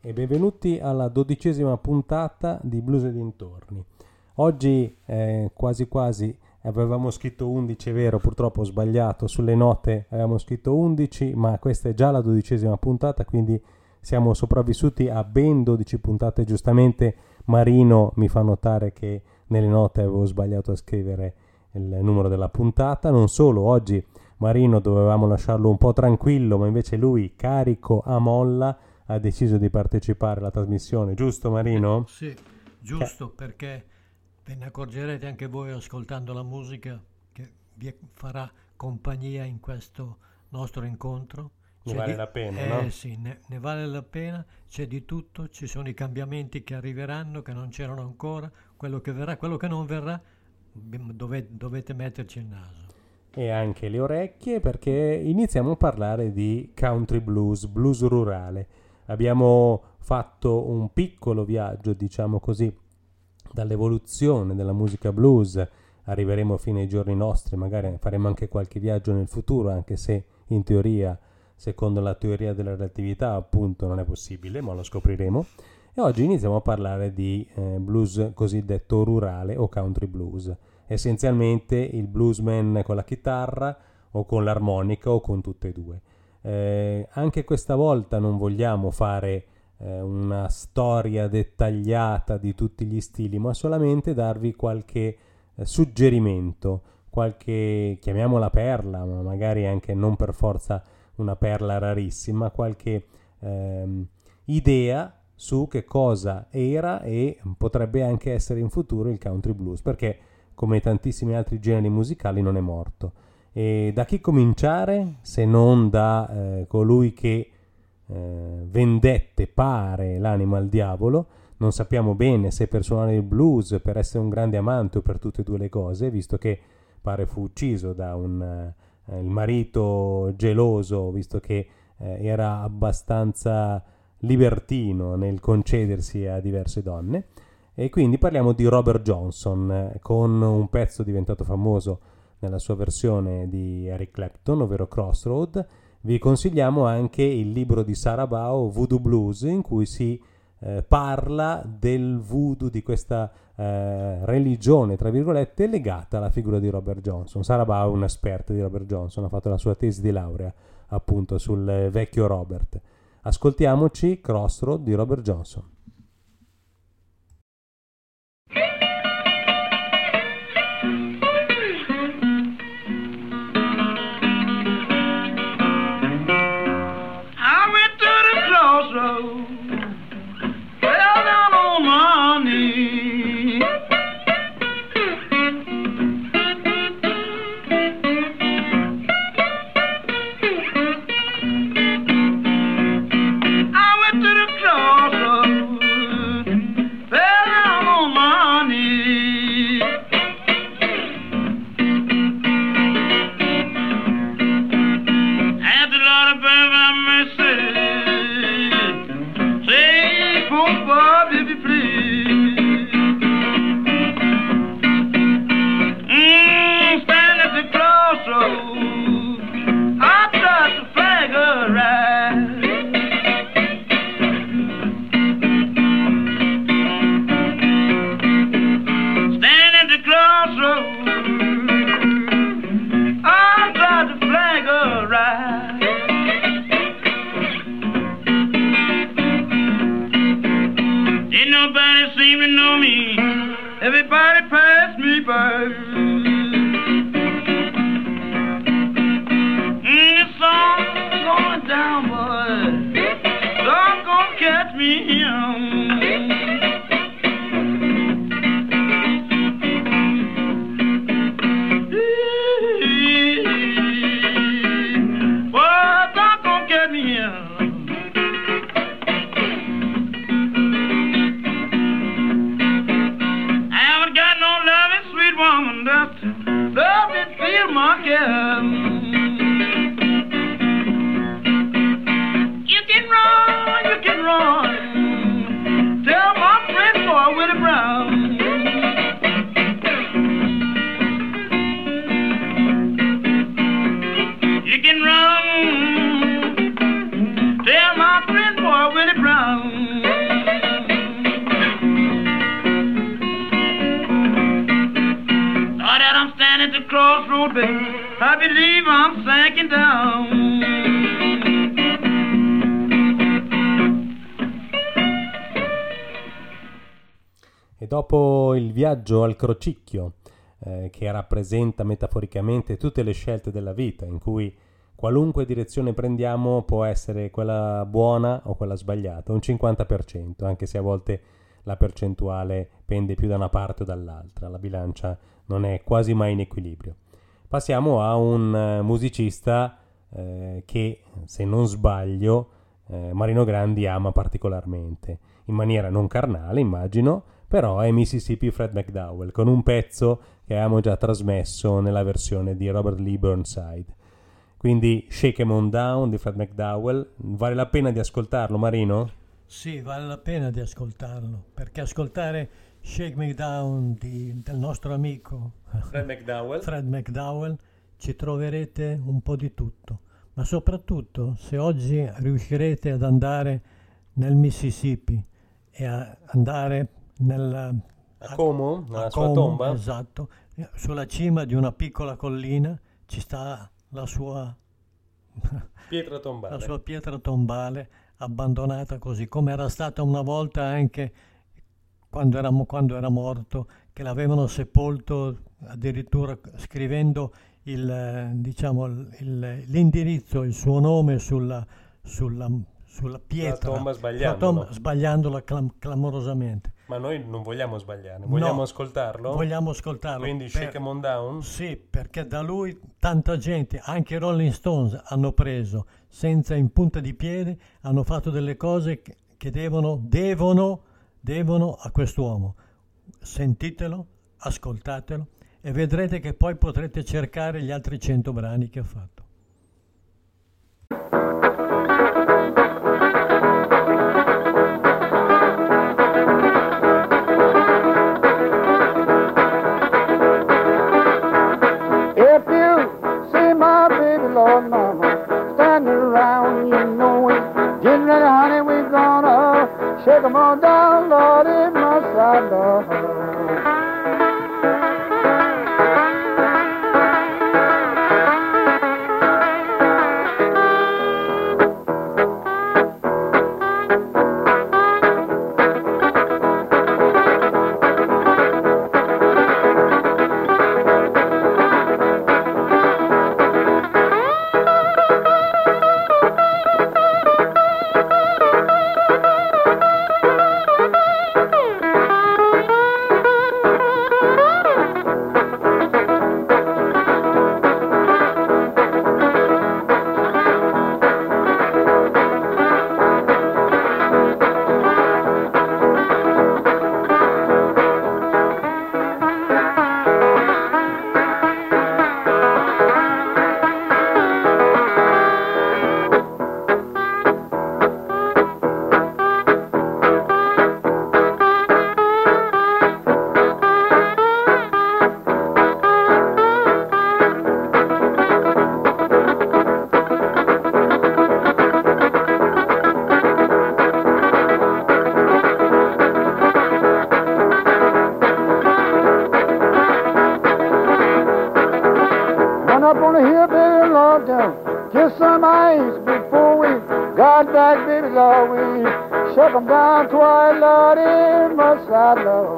e benvenuti alla 12ª puntata di Blues e dintorni. Oggi quasi quasi avevamo scritto 11, è vero, purtroppo ho sbagliato, sulle note avevamo scritto 11, ma questa è già la 12ª puntata, quindi siamo sopravvissuti a ben 12 puntate. Giustamente Marino mi fa notare che nelle note avevo sbagliato a scrivere il numero della puntata. Non solo, oggi Marino dovevamo lasciarlo un po' tranquillo, ma invece lui, carico a molla, ha deciso di partecipare alla trasmissione, giusto Marino? Sì, giusto, perché ve ne accorgerete anche voi ascoltando la musica che vi farà compagnia in questo nostro incontro. Ne vale la pena, no? Sì, ne vale la pena, c'è di tutto, ci sono i cambiamenti che arriveranno, che non c'erano ancora, quello che verrà, quello che non verrà, dovete metterci il naso. E anche le orecchie, perché iniziamo a parlare di country blues, blues rurale. Abbiamo fatto un piccolo viaggio, diciamo così, dall'evoluzione della musica blues. Arriveremo fino ai giorni nostri, magari faremo anche qualche viaggio nel futuro, anche se in teoria, secondo la teoria della relatività, appunto, non è possibile, ma lo scopriremo. E oggi iniziamo a parlare di blues cosiddetto rurale o country blues. Essenzialmente il bluesman con la chitarra o con l'armonica o con tutte e due. Anche questa volta non vogliamo fare una storia dettagliata di tutti gli stili, ma solamente darvi qualche suggerimento, qualche, chiamiamola perla, ma magari anche non per forza una perla rarissima, qualche idea su che cosa era e potrebbe anche essere in futuro il country blues, perché come tantissimi altri generi musicali non è morto. E da chi cominciare se non da colui che vendette, pare, l'anima al diavolo? Non sappiamo bene se per suonare il blues, per essere un grande amante o per tutte e due le cose, visto che pare fu ucciso da il marito geloso, visto che era abbastanza libertino nel concedersi a diverse donne. E quindi parliamo di Robert Johnson, con un pezzo diventato famoso nella sua versione di Eric Clapton, ovvero Crossroad. Vi consigliamo anche il libro di Sarah Bao, Voodoo Blues, in cui si parla del voodoo, di questa religione, tra virgolette, legata alla figura di Robert Johnson. Sarah Bao è un'esperta di Robert Johnson, ha fatto la sua tesi di laurea appunto sul vecchio Robert. Ascoltiamoci Crossroad di Robert Johnson. You can run, tell my friend boy Willie Brown. crossroad, baby, I believe I'm sinking down. E dopo il viaggio al crocicchio, che rappresenta metaforicamente tutte le scelte della vita, in cui qualunque direzione prendiamo può essere quella buona o quella sbagliata, un 50%, anche se a volte la percentuale pende più da una parte o dall'altra, la bilancia non è quasi mai in equilibrio. Passiamo a un musicista che, se non sbaglio, Marino Grandi ama particolarmente, in maniera non carnale, immagino, però è Mississippi Fred McDowell, con un pezzo che abbiamo già trasmesso nella versione di Robert Lee Burnside. Quindi Shake 'Em On Down di Fred McDowell, vale la pena di ascoltarlo, Marino? Sì, vale la pena di ascoltarlo, perché ascoltare Shake Me Down del nostro amico Fred McDowell ci troverete un po' di tutto, ma soprattutto se oggi riuscirete ad andare nel Mississippi e a andare a Como, nella sua Como, tomba. esatto, sulla cima di una piccola collina ci sta la sua pietra tombale. La sua pietra tombale abbandonata così come era stata una volta anche quando era morto, che l'avevano sepolto addirittura scrivendo l'indirizzo, il suo nome sulla pietra, la tomba sbagliandola clamorosamente. Ma noi non vogliamo sbagliare, vogliamo ascoltarlo? Vogliamo ascoltarlo. Quindi Shake 'Em On Down? Sì, perché da lui tanta gente, anche i Rolling Stones, hanno preso senza in punta di piede, hanno fatto delle cose che devono a quest'uomo. Sentitelo, ascoltatelo e vedrete che poi potrete cercare gli altri 100 brani che ha fatto. Lord mama, standing around, you know it. Get ready, honey, we're gonna shake 'em all down, Lord, in my side, Lord. Up on the hill, baby, Lord, down. Kiss some ice before we got back, baby, Lord. We shut them down twice, Lord, in my side, Lord.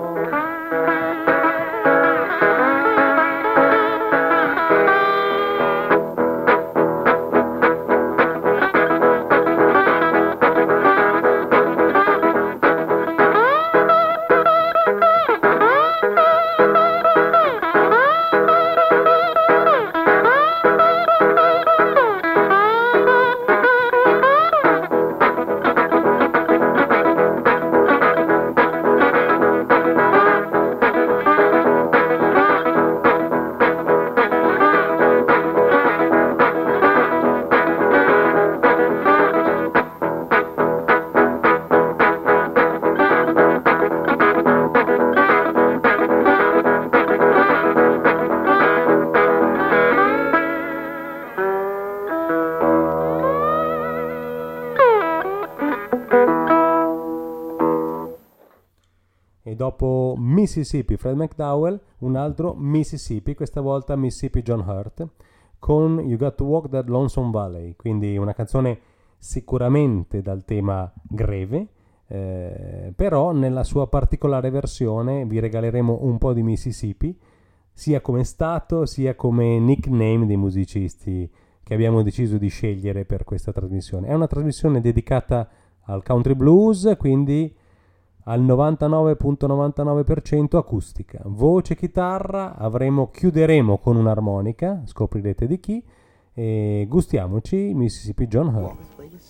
dopo Mississippi Fred McDowell, un altro Mississippi, questa volta Mississippi John Hurt, con You Got to Walk That Lonesome Valley, quindi una canzone sicuramente dal tema greve, però nella sua particolare versione vi regaleremo un po' di Mississippi, sia come stato sia come nickname dei musicisti che abbiamo deciso di scegliere per questa trasmissione. È una trasmissione dedicata al country blues, quindi al 99,99% acustica. Voce, chitarra, chiuderemo con un'armonica, scoprirete di chi, e gustiamoci Mississippi John Hurt.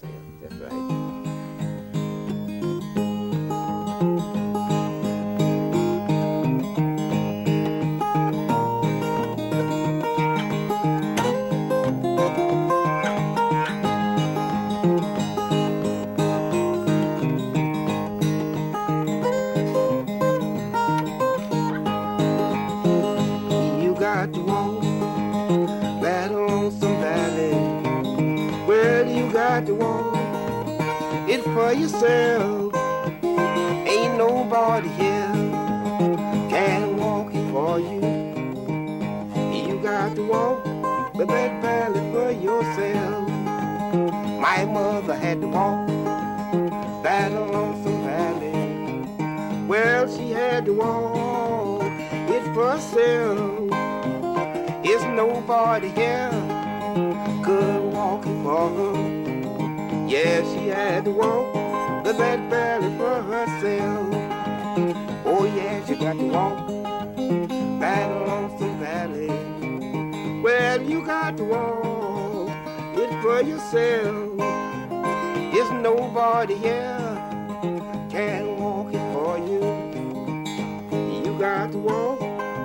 For yourself, ain't nobody here can walk it for you. You got to walk the Red Valley for yourself. My mother had to walk that lonesome valley. Well, she had to walk it for herself. It's nobody here could walk it for her. Yeah, she had to walk the Red Valley for herself. Oh yeah, she got to walk that lonesome valley. Well, you got to walk it for yourself. There's nobody here can walk it for you. You got to walk.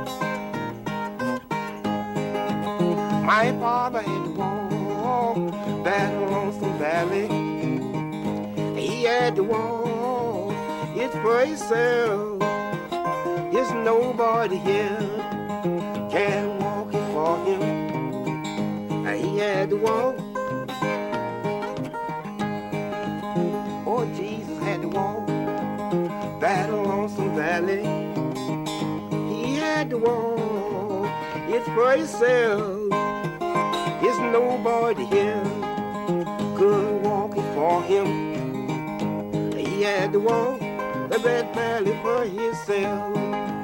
My father had to walk that lonesome valley. He had to walk it for himself. There's nobody here can walk it for him. He had to walk. Oh, Jesus had to walk that lonesome valley. He had to walk it for himself. There's nobody here could walk it for him. He had to walk the Red Valley for himself.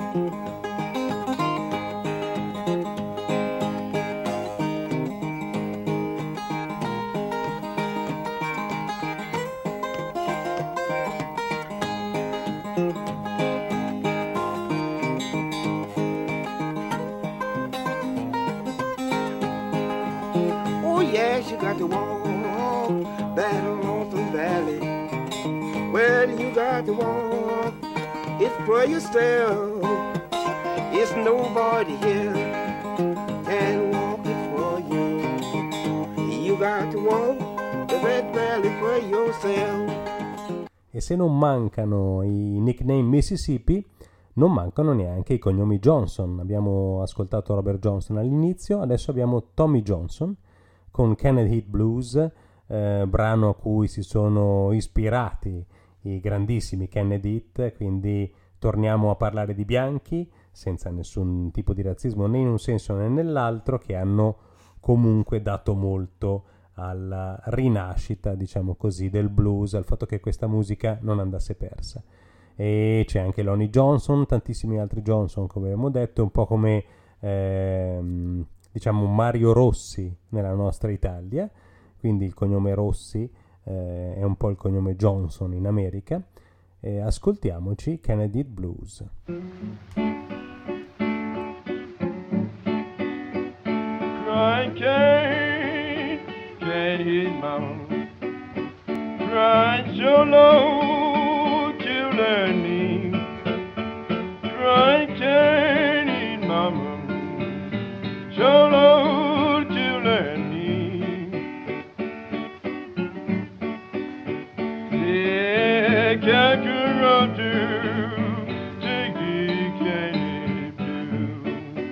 Oh yes, you got to walk that lonesome valley. Well, you got to walk it for yourself. It's nobody here can walk it for you. You got to walk the Red Valley for yourself. E se non mancano i nickname Mississippi, non mancano neanche i cognomi Johnson. Abbiamo ascoltato Robert Johnson all'inizio, adesso abbiamo Tommy Johnson con Kenneth Heat Blues, brano a cui si sono ispirati i grandissimi Kenneth Heat, quindi torniamo a parlare di bianchi senza nessun tipo di razzismo né in un senso né nell'altro, che hanno comunque dato molto alla rinascita, diciamo così, del blues, al fatto che questa musica non andasse persa. E c'è anche Lonnie Johnson, tantissimi altri Johnson, come abbiamo detto, un po' come diciamo Mario Rossi nella nostra Italia, quindi il cognome Rossi è un po' il cognome Johnson in America. Ascoltiamoci Kennedy Blues. Crying can't his mama, crying so low to their knees, crying can't his mama, so low to their knees. Yeah, Kakarotto, Jiggy Candy Blue,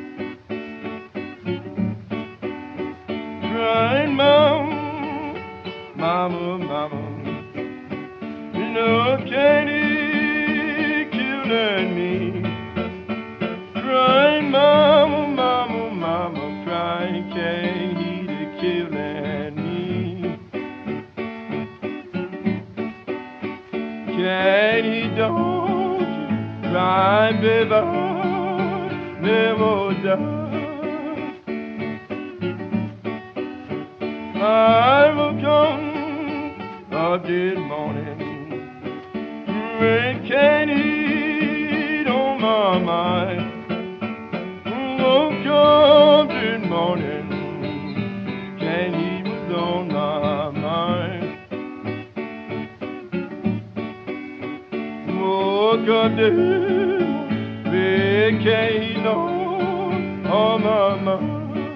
crying mama, mama, no candy killing me. Why can't he to killing me? Can he don't cry, baby, never die? I will come a dead morning, when can he on my mind? Oh, come dead morning, can he was on my mind? Oh, come dead, when can he on my mind?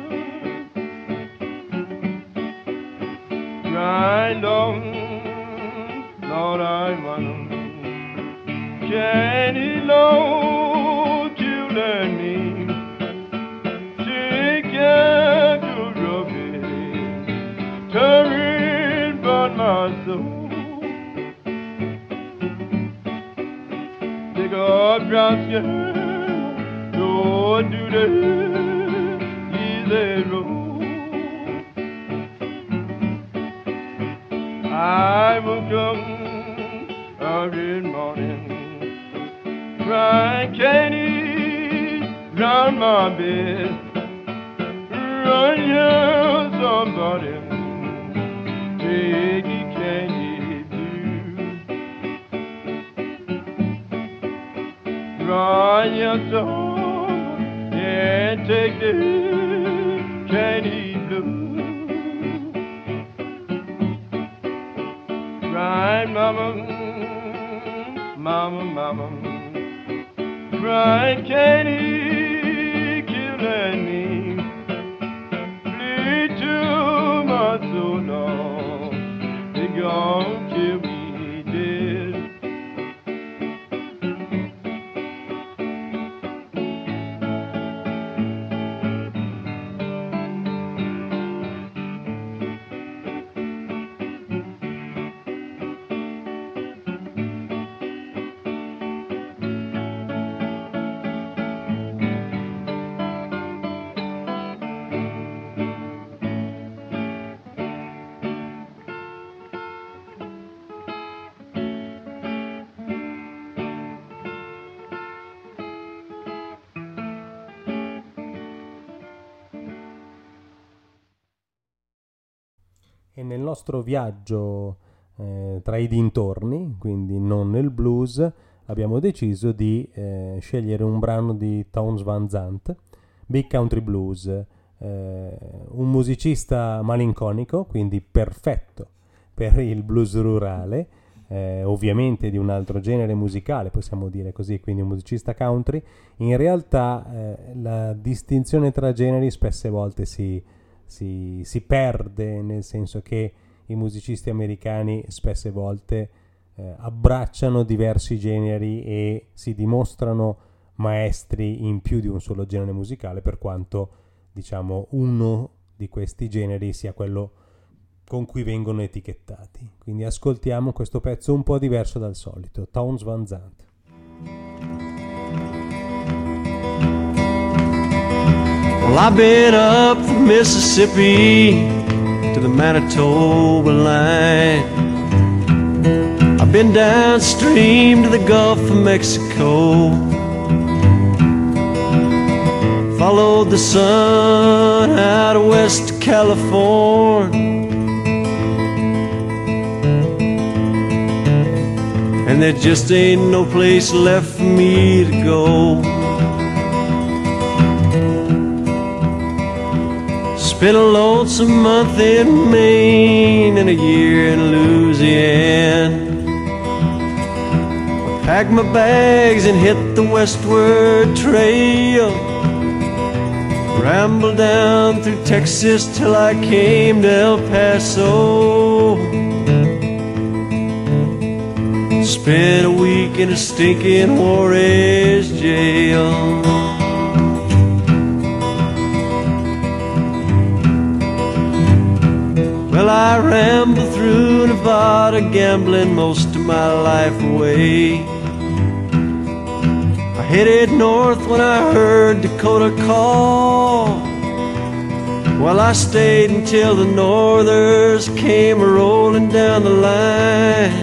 Right on, Lord, I want can he know to learn me? Take care to rub it, turn but my soul. Take a brown skin, don't do the easy road. I will come every morning, cry candy round my bed, run here somebody, take it candy blue. Run here some, yeah, take the candy blue. Cry, mama, mama, mama. Cry, can he killing me? Bleed to my soul, Lord. They gon' kill me dead. E nel nostro viaggio tra i dintorni, quindi non nel blues, abbiamo deciso di scegliere un brano di Townes Van Zandt, Big Country Blues, un musicista malinconico, quindi perfetto per il blues rurale, ovviamente di un altro genere musicale, possiamo dire così, quindi un musicista country. In realtà la distinzione tra generi spesse volte si perde, nel senso che i musicisti americani spesse volte abbracciano diversi generi e si dimostrano maestri in più di un solo genere musicale, per quanto diciamo uno di questi generi sia quello con cui vengono etichettati. Quindi ascoltiamo questo pezzo un po' diverso dal solito, Townes Van Zandt. Well, I've been up from Mississippi to the Manitoba line. I've been downstream to the Gulf of Mexico. Followed the sun out of West California. And there just ain't no place left for me to go. Spent a lonesome month in Maine and a year in Louisiana. I packed my bags and hit the westward trail. Rambled down through Texas till I came to El Paso. Spent a week in a stinking Juarez jail. Well, I rambled through Nevada, gambling most of my life away. I headed north when I heard Dakota call. Well, I stayed until the Northers came rolling down the line.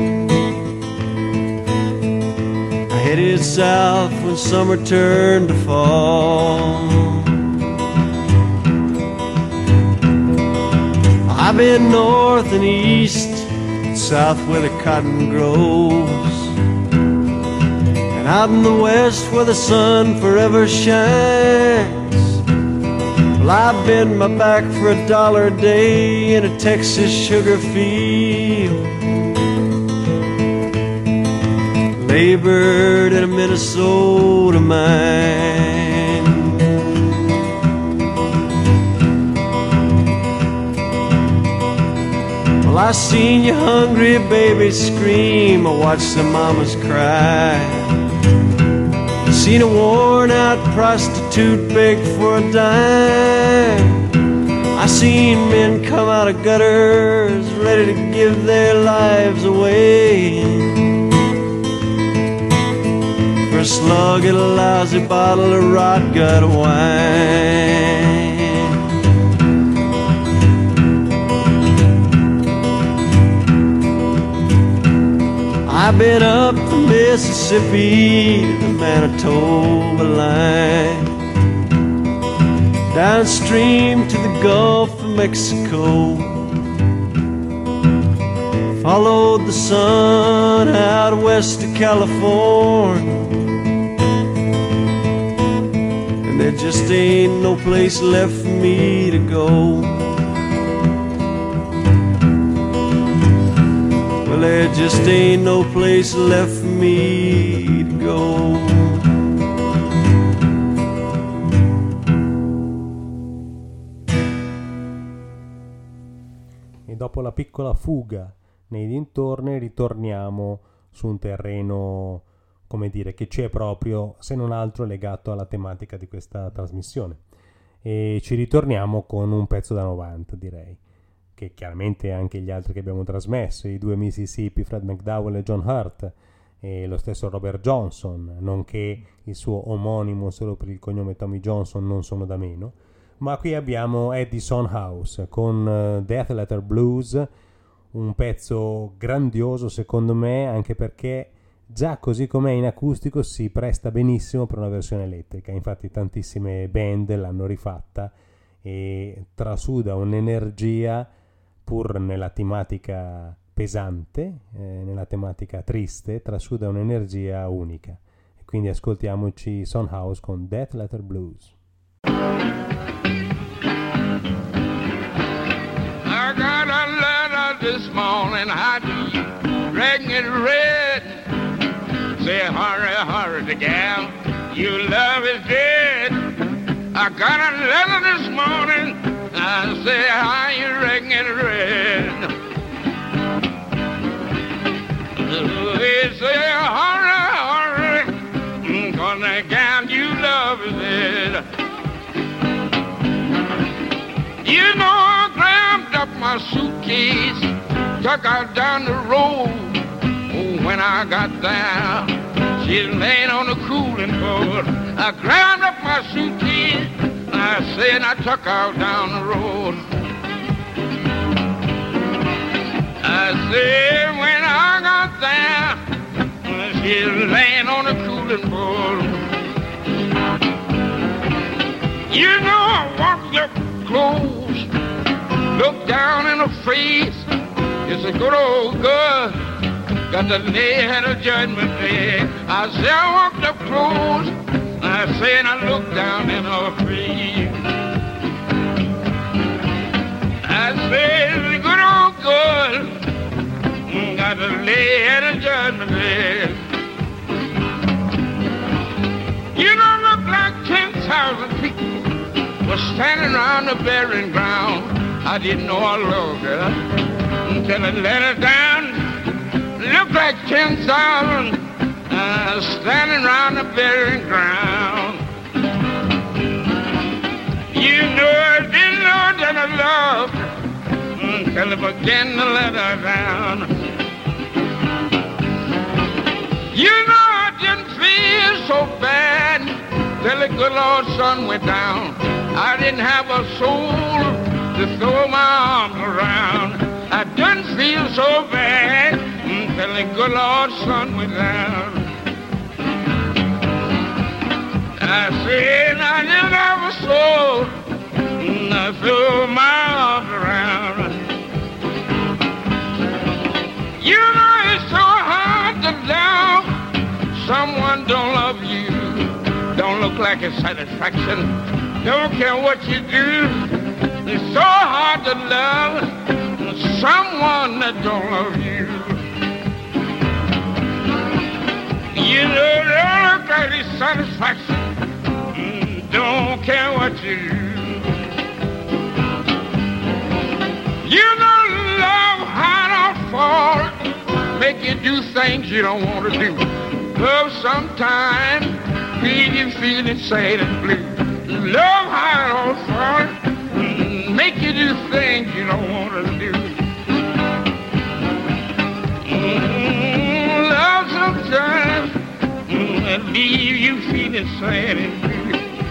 I headed south when summer turned to fall. I've been north and east, south where the cotton grows, and out in the west where the sun forever shines. Well, I've bent my back for $1 a day in a Texas sugar field, labored in a Minnesota mine. Well, I seen your hungry babies scream, I watched the mamas cry. Seen a worn-out prostitute beg for a dime. I seen men come out of gutters ready to give their lives away for a slug at a lousy bottle of rot gut wine. I've been up the Mississippi to the Manitoba line, downstream to the Gulf of Mexico, followed the sun out west of California, and there just ain't no place left for me to go. Well, there just ain't no place left for me to go. E dopo la piccola fuga nei dintorni ritorniamo su un terreno, come dire, che ci è proprio, se non altro, legato alla tematica di questa trasmissione. E ci ritorniamo con un pezzo da 90, direi, che chiaramente anche gli altri che abbiamo trasmesso, i due Mississippi, Fred McDowell e John Hurt, e lo stesso Robert Johnson, nonché il suo omonimo solo per il cognome Tommy Johnson, non sono da meno. Ma qui abbiamo Eddie Sondhaus con Death Letter Blues, un pezzo grandioso secondo me, anche perché già così com'è in acustico si presta benissimo per una versione elettrica. Infatti tantissime band l'hanno rifatta e trasuda un'energia, pur nella tematica pesante, nella tematica triste, trasuda un'energia unica. E quindi ascoltiamoci Sondhaus con Death Letter Blues. I got a letter this morning, I do, written in red. Say, hurry, hurry, the gal, your love is dead. I got a letter this morning, I say, how you written in red? They say, hurry, hurry, 'cause the gal you love is dead. You know, I grabbed up my suitcase, took out down the road. Oh, when I got there, she's laying on the cooling board. I grabbed up my suitcase, I said, I took out down the road. I said, when I got there, she's laying on the cooling board. You know, I walked up close, look down in her face. It's a good old girl, got the lay at a judgment day. I said, I walked up close, I said, I looked down in her face. I said, it's a good old girl, got the lay at a judgment day. You don't look like 10,000 people was standing around the burying ground. I didn't know I loved her until I let her down. Looked like 10,000 standing around the burying ground. You know I didn't know that I loved her until I began to let her down. You know I didn't feel so bad till the good Lord's sun went down. I didn't have a soul so bad until the good Lord sun went down. I said I never so I threw my arms around. You know it's so hard to love someone don't love you. Don't look like a satisfaction. Don't care what you do. It's so hard to love someone that don't love you. You know, don't look like a satisfaction. Don't care what you do. You know, love hard or fall, make you do things you don't want to do. Love sometimes leave you feeling sad and blue. Love hard or fall, make you do things you don't want to do. Love sometimes leave you feeling sad and blue.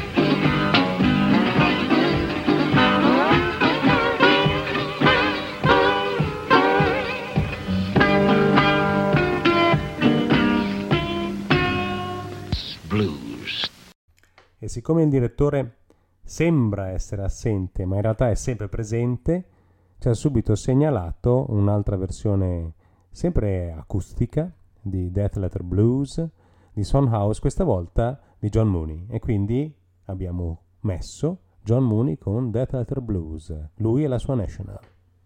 E siccome il direttore sembra essere assente, ma in realtà è sempre presente, ci ha subito segnalato un'altra versione sempre acustica di Death Letter Blues di Son House, questa volta di John Mooney. E quindi abbiamo messo John Mooney con Death Letter Blues, lui e la sua National.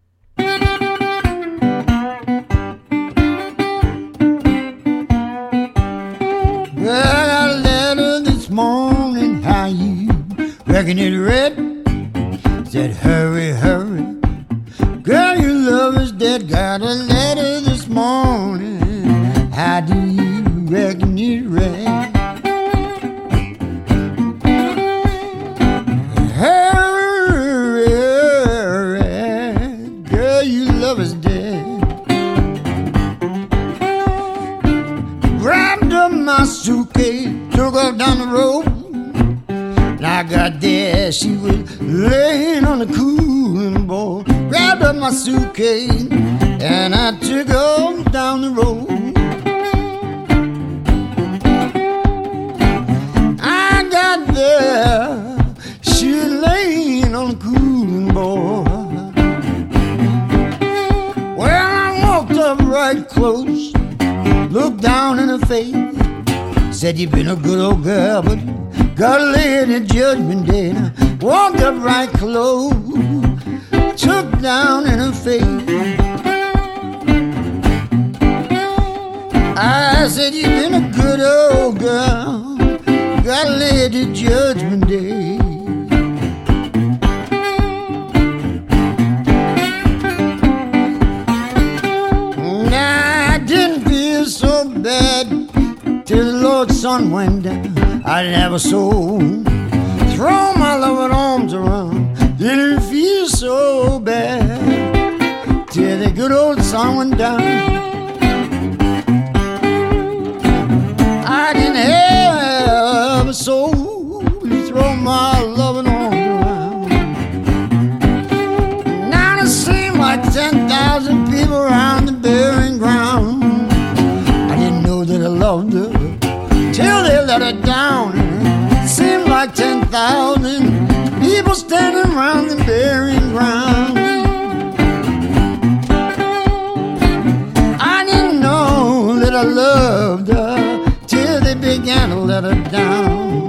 Morning, how you reckon it read? Said hurry, hurry, girl, your love is dead. Got a letter this morning, how do you reckon it read? Hurry, hurry, girl, your love is dead. Grabbed up my suitcase, took off down the road. And I got there, she was laying on the cooling board. Grabbed up my suitcase and I took off down the road. I got there, she was laying on the cooling board. Well, I walked up right close, looked down in her face. Said you've been a good old girl, but gotta lay it in judgment day. And I walked up right close, took down in her face. I said you've been a good old girl, gotta lay it in judgment day. And I didn't feel so bad till the Lord's sun went down. I never so throw my loving arms around. Didn't feel so bad till the good old sun went down. I didn't have a soul to throw my loving arms around. Now it seemed like 10,000 people around the burying ground. I didn't know that I loved her till they let her down. It seemed like 10,000 people standing around the burying ground. I didn't know that I loved her till they began to let her down.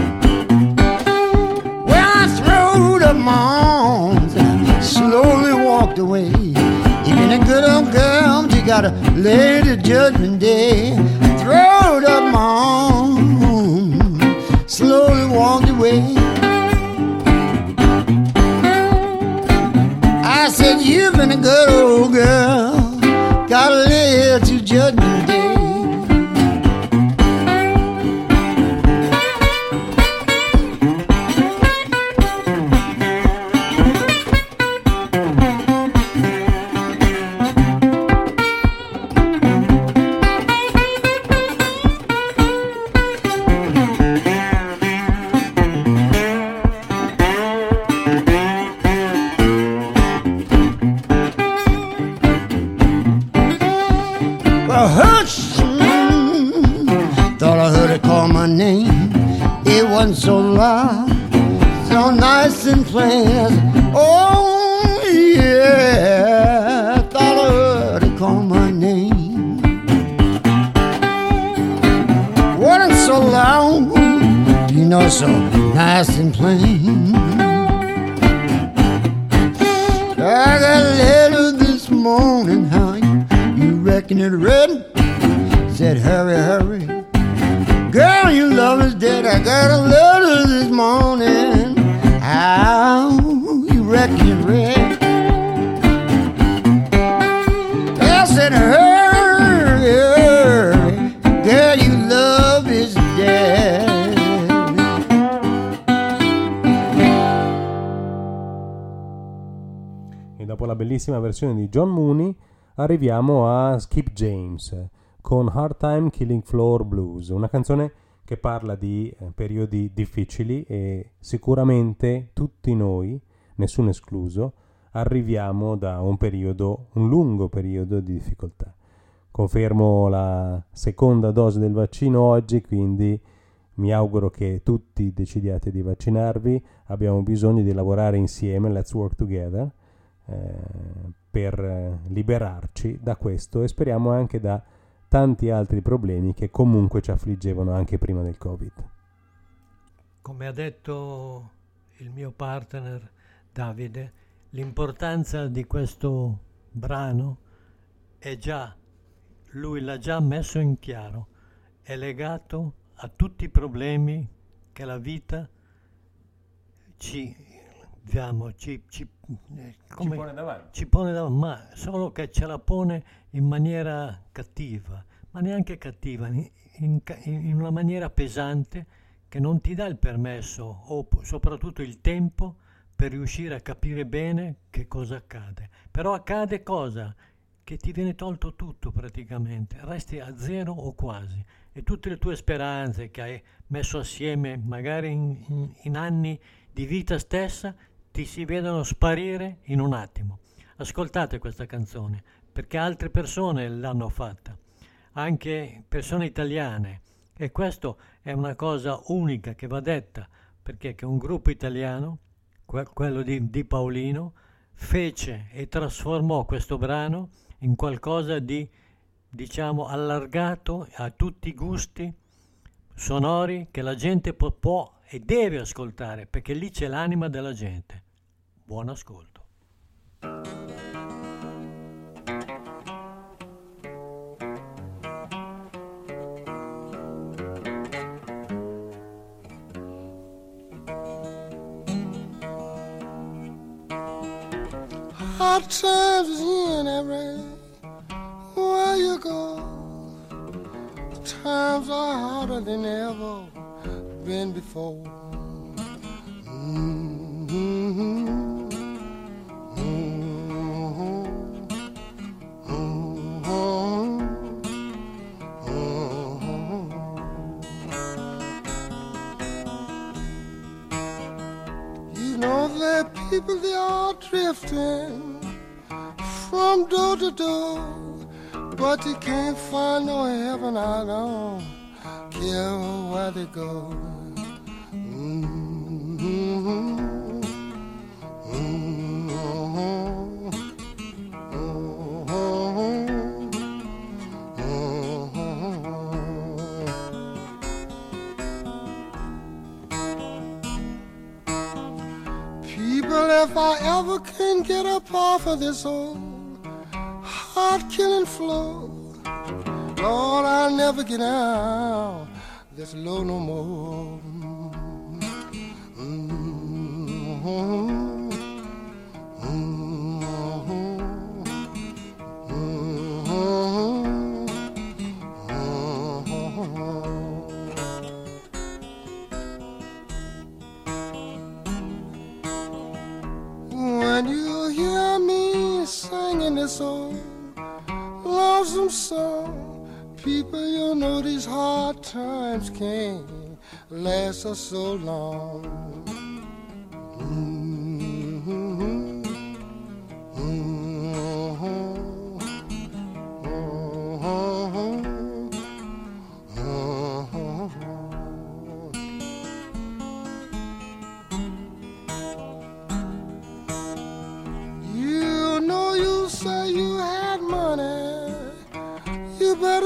Well, I threw up my arms and slowly walked away. You've been a good old girl, but you gotta lay the judgment day. Throwed up my arms, slowly walked away. I said, you've been a good old girl, gotta lay it to judgment day. so nice and plain. Oh yeah, I thought I heard her call my name. Wasn't so long, you know, so nice and plain. I got a letter this morning, how you reckon it read? Said hurry, hurry, girl, your love is dead. I got a letter this morning, how you reckon it read? I said hurry, hurry, girl, your love is dead. E dopo la bellissima versione di John Mooney arriviamo a Skip James con Hard Time Killing Floor Blues, una canzone che parla di periodi difficili e sicuramente tutti noi, nessuno escluso, arriviamo da un lungo periodo di difficoltà. Confermo la seconda dose del vaccino oggi, quindi mi auguro che tutti decidiate di vaccinarvi. Abbiamo bisogno di lavorare insieme, let's work together, per liberarci da questo e speriamo anche da tanti altri problemi che comunque ci affliggevano anche prima del Covid. Come ha detto il mio partner Davide, l'importanza di questo brano è già, lui l'ha già messo in chiaro, è legato a tutti i problemi che la vita ci pone davanti, ma solo che ce la pone in maniera cattiva, ma neanche cattiva, in una maniera pesante che non ti dà il permesso o soprattutto il tempo per riuscire a capire bene che cosa accade. Però accade cosa? Che ti viene tolto tutto praticamente, resti a zero o quasi, e tutte le tue speranze che hai messo assieme magari in anni di vita stessa ti si vedono sparire in un attimo. Ascoltate questa canzone perché altre persone l'hanno fatta, anche persone italiane, e questo è una cosa unica che va detta, perché che un gruppo italiano, quello di Paolino, fece e trasformò questo brano in qualcosa di, diciamo, allargato a tutti i gusti sonori che la gente può e deve ascoltare, perché lì c'è l'anima della gente. Buon ascolto. Hard times is in every where you go. Times are harder than ever been before. You know there are people, they are drifting from door to door, but you can't find no heaven. I don't care where they go. People, if I ever can get up off of this old heart-killing floor, Lord, I'll never get out this low no more. When you hear me singing this old lonesome song, people, you know these hard times can't last us so long.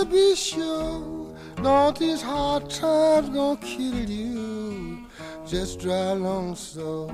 better be sure. Don't these hard times gonna kill you. Just drive along slow.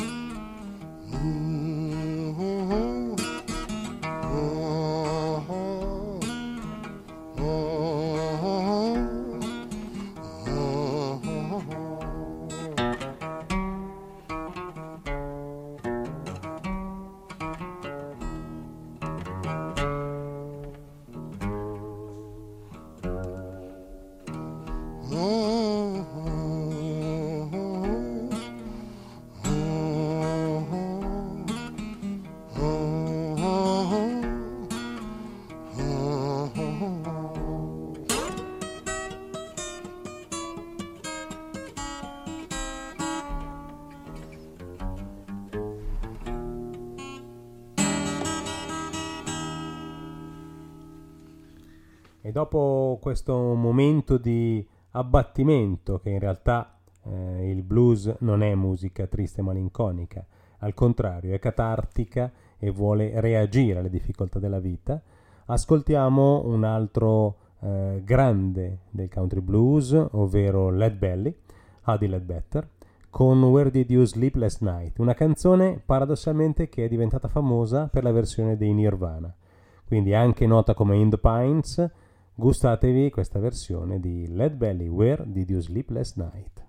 E dopo questo momento di abbattimento, che in realtà il blues non è musica triste e malinconica, al contrario è catartica e vuole reagire alle difficoltà della vita, ascoltiamo un altro grande del country blues, ovvero Lead Belly, Huddie Ledbetter, con Where Did You Sleep Last Night, una canzone paradossalmente che è diventata famosa per la versione dei Nirvana, quindi anche nota come In the Pines. Gustatevi questa versione di Lead Belly, Where Did You Sleep Last Night?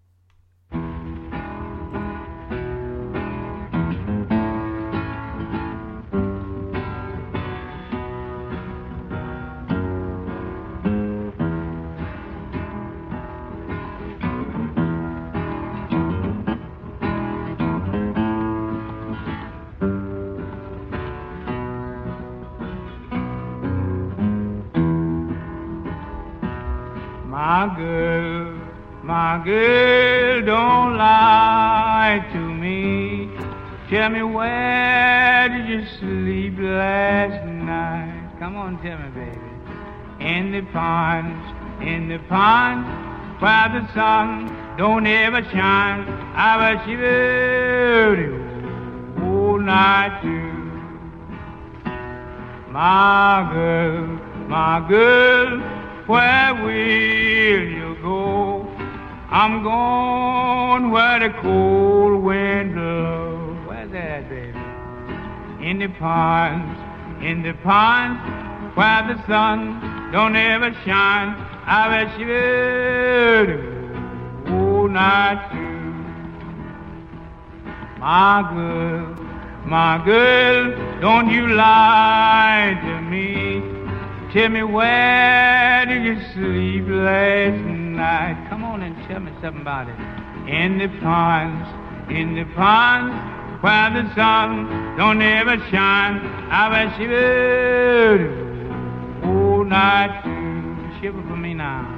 My girl, don't lie to me. Tell me, where did you sleep last night? Come on, tell me, baby. In the pond, where the sun don't ever shine. I was shivering all night too. My girl, where will you go? I'm going where the cold wind blows. Where's that, baby? In the ponds, where the sun don't ever shine. I bet you all night too. My girl, don't you lie to me. Tell me, where did you sleep last night? Come on and tell me something about it. In the ponds, where the sun don't ever shine. I bet you all night too. Shiver for me now.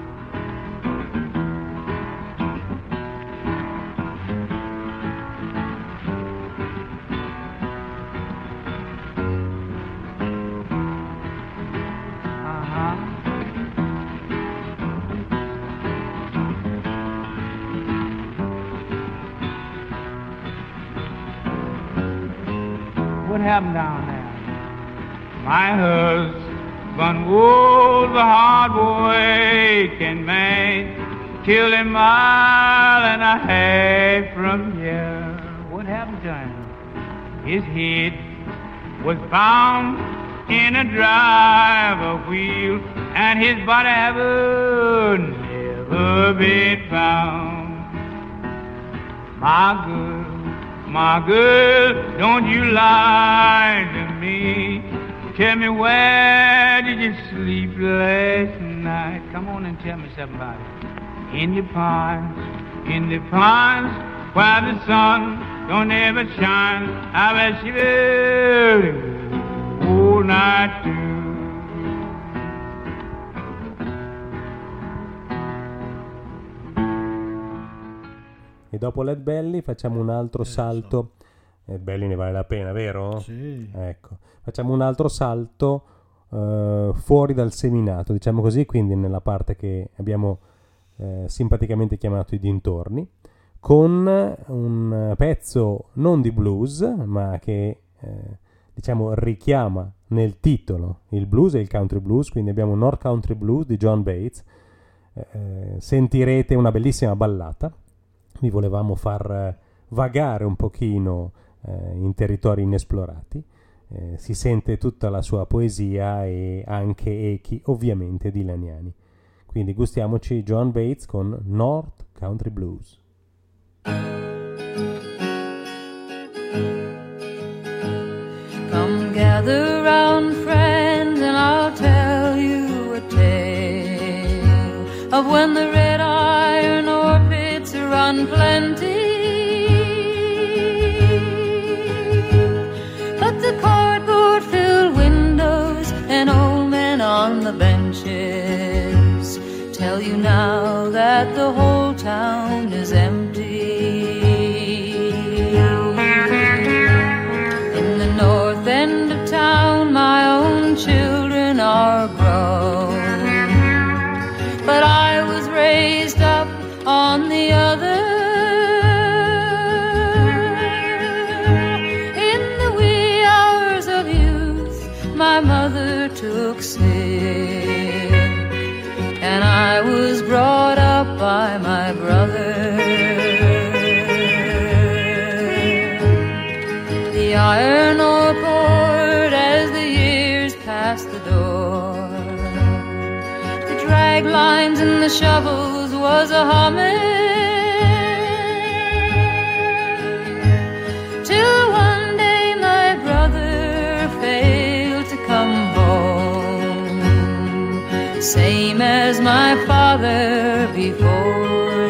What happened down there? My husband was a hard-working man, killed a mile and a half from here. What happened to him? His head was found in a driver wheel, and his body ever never been found. My girl, don't you lie to me. Tell me, where did you sleep last night? Come on and tell me something about it. In the ponds, where the sun don't ever shine. I bet you all night too. E dopo Lead Belly facciamo un altro salto. Lead Belly ne vale la pena, vero? Sì. Ecco, facciamo un altro salto fuori dal seminato, diciamo così, quindi nella parte che abbiamo simpaticamente chiamato i dintorni, con un pezzo non di blues, ma che diciamo richiama nel titolo il blues e il country blues, quindi abbiamo North Country Blues di John Bates. Sentirete una bellissima ballata. Vi volevamo far vagare un pochino in territori inesplorati. Si sente tutta la sua poesia e anche echi ovviamente dilaniani. Quindi gustiamoci John Bates con North Country Blues. Come gather round, friends, and I'll tell you a tale of when the red iron ore pits run plenty, but the cardboard filled windows and old men on the benches tell you now that the whole town is empty. In the north end of town my own children are grown, but I was raised up on the other. In the wee hours of youth my mother took sick, and I was brought up by my brother. The iron ore poured as the years passed the door. The drag lines and the shovels was a humming, till one day my brother failed to come home, same as my father before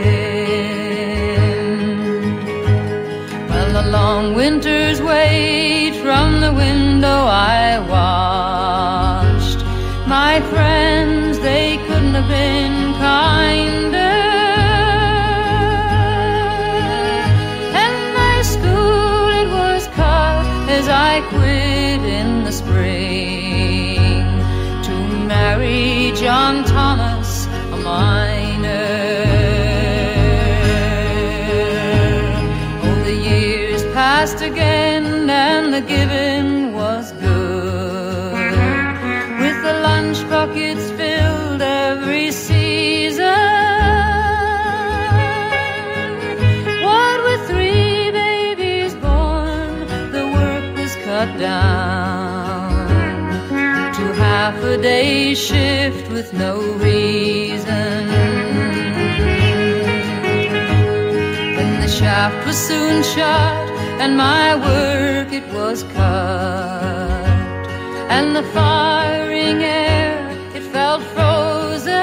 him. Well, a long winter's wait from the window I watched. My friends, they couldn't have been kinder, and my school, it was cut as I quit in the spring to marry John Thomas, a miner. Oh, the years passed again and the giving was good, with the lunch buckets filled every season. What with 3 babies born, the work was cut down to half a day's shift with no reason. Then the shaft was soon shut and my work it was cut, and the firing air it felt frozen,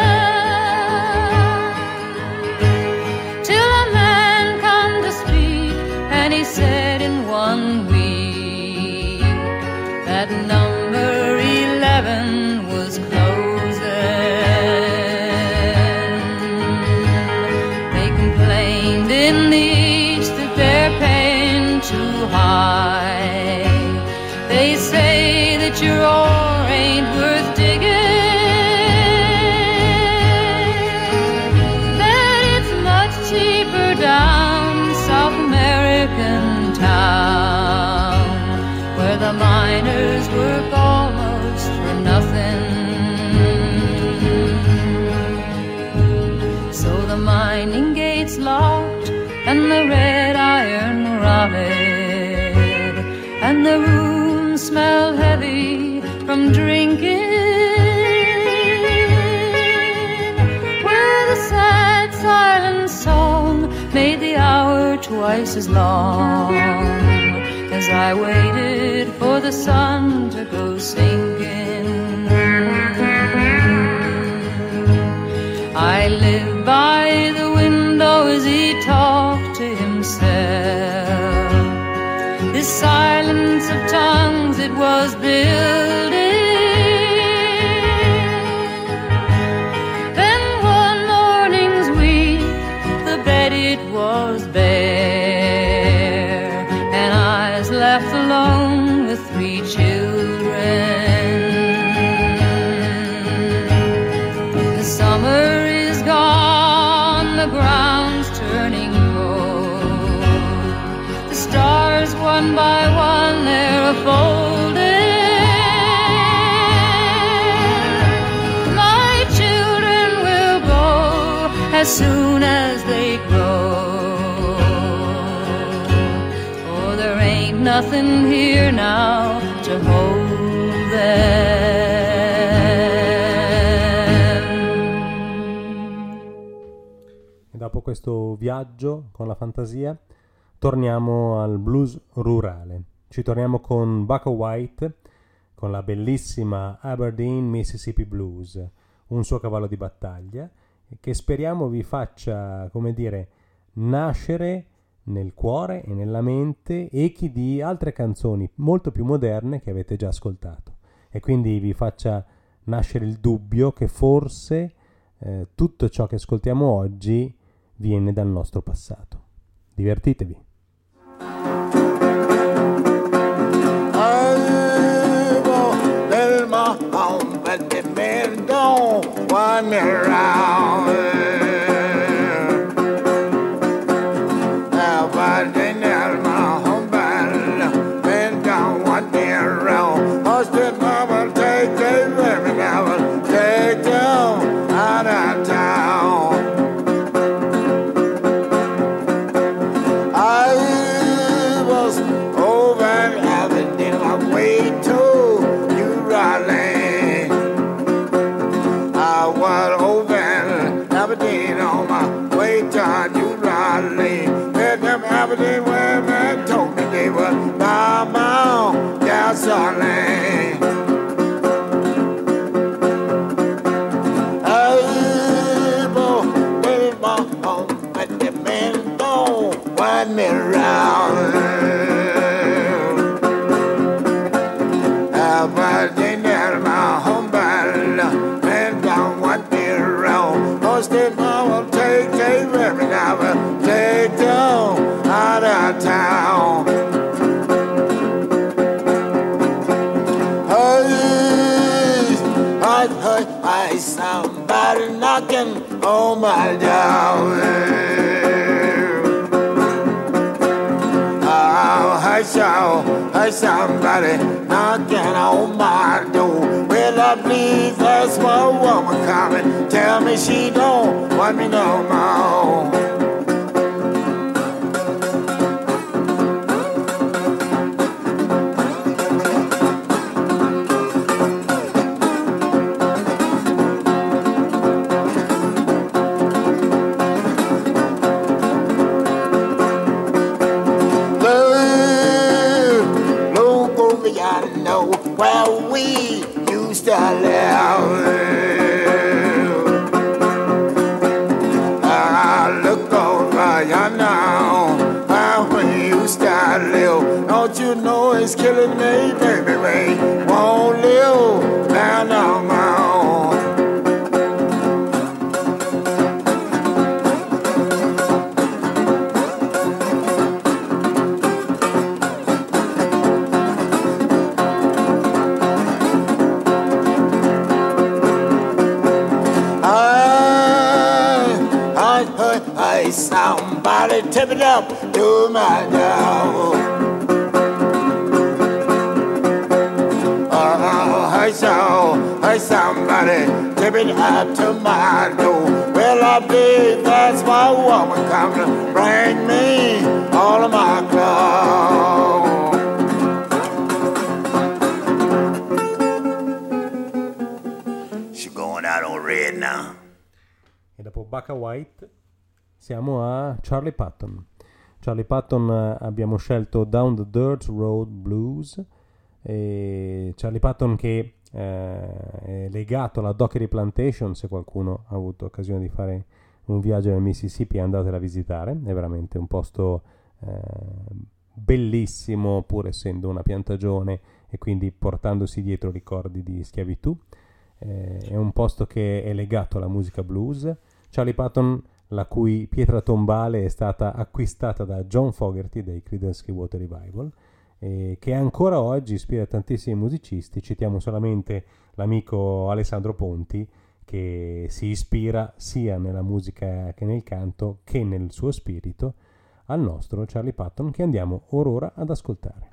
till a man come to speak and he said in 1 week that number 11 was closing. They complained in the east that they're paying too high. They say that your ore ain't worth digging, that it's much cheaper down South American town, where the miners work almost for nothing. So the mining gates locked and the red iron rotted, and the room smelled heavy from drinking, where the sad silent song made the hour twice as long as I waited for the sun to go sinking. I lived by the window as he talked to himself. This silence of tongues it was building. Then one morning's week, the bed it was bare, and I was left alone with 3 children. The summer is gone, the ground's turning cold. The stars one by one they're a-folding, as soon as they grow. Oh, there ain't nothing here now to hold them. E dopo questo viaggio con la fantasia torniamo al blues rurale. Ci torniamo con Bucka White, con la bellissima Aberdeen Mississippi Blues, un suo cavallo di battaglia, che speriamo vi faccia, come dire, nascere nel cuore e nella mente echi di altre canzoni molto più moderne che avete già ascoltato, e quindi vi faccia nascere il dubbio che forse tutto ciò che ascoltiamo oggi viene dal nostro passato. Divertitevi. But the men don't want me around. But they never my home battle. Men don't want me around. Husband, mama, take them every now and take them out of town. I was over in Aberdeen, I wait to New Orleans. Aberdeen on my way to New Orleans. Met them Aberdeen women told me they were by my gasoline. Hey, boy, baby, my home, but the men don't want me around. Aberdeen, they're my home, but men don't want me around. Then I will take them every now and take them out of town. Hey, somebody knocking on my door. Oh, hey, somebody knocking on my door. Well, I believe that's my woman coming. Tell me she don't want me no more. Look over yonder, know where we used to live. Look over yonder, where we used to live. Don't you know it's killing me, baby? We won't live down no more. Somebody tip it up to my door. Oh, hey, somebody tip it up to my door. Well, I believe that's my woman coming to bring me all of my clothes. She going out on red now. E dopo Bucka White siamo a Charlie Patton. Charlie Patton abbiamo scelto Down the Dirt Road Blues. E Charlie Patton che è legato alla Dockery Plantation. Se qualcuno ha avuto occasione di fare un viaggio nel Mississippi, andatela a visitare. È veramente un posto bellissimo, pur essendo una piantagione e quindi portandosi dietro ricordi di schiavitù. È un posto che è legato alla musica blues. Charlie Patton, la cui pietra tombale è stata acquistata da John Fogerty dei Creedence Clearwater Revival, che ancora oggi ispira tantissimi musicisti. Citiamo solamente l'amico Alessandro Ponti, che si ispira sia nella musica che nel canto che nel suo spirito al nostro Charlie Patton, che andiamo ora ad ascoltare.